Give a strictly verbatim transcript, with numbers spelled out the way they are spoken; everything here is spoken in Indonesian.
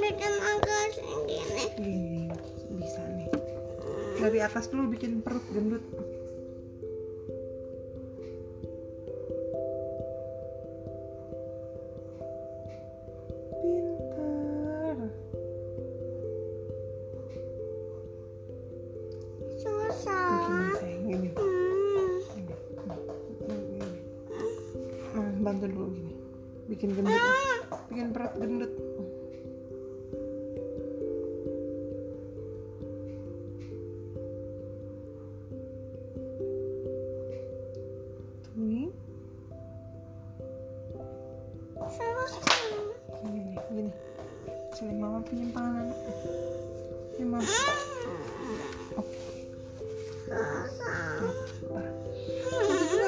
bikin agak gini. Gini, bisa nih. Dari atas dulu bikin perut gendut. Pintar. Susah. Gini sayang, gini. Hmm. Gini. Gini. Nah, bantu dulu gini. Bikin gendut. Ya. Bikin perut gendut. Tuh. Susah. Gini, gini. Sini mama pinjam tangan. Ini mama. Oh. Susah. Bentar.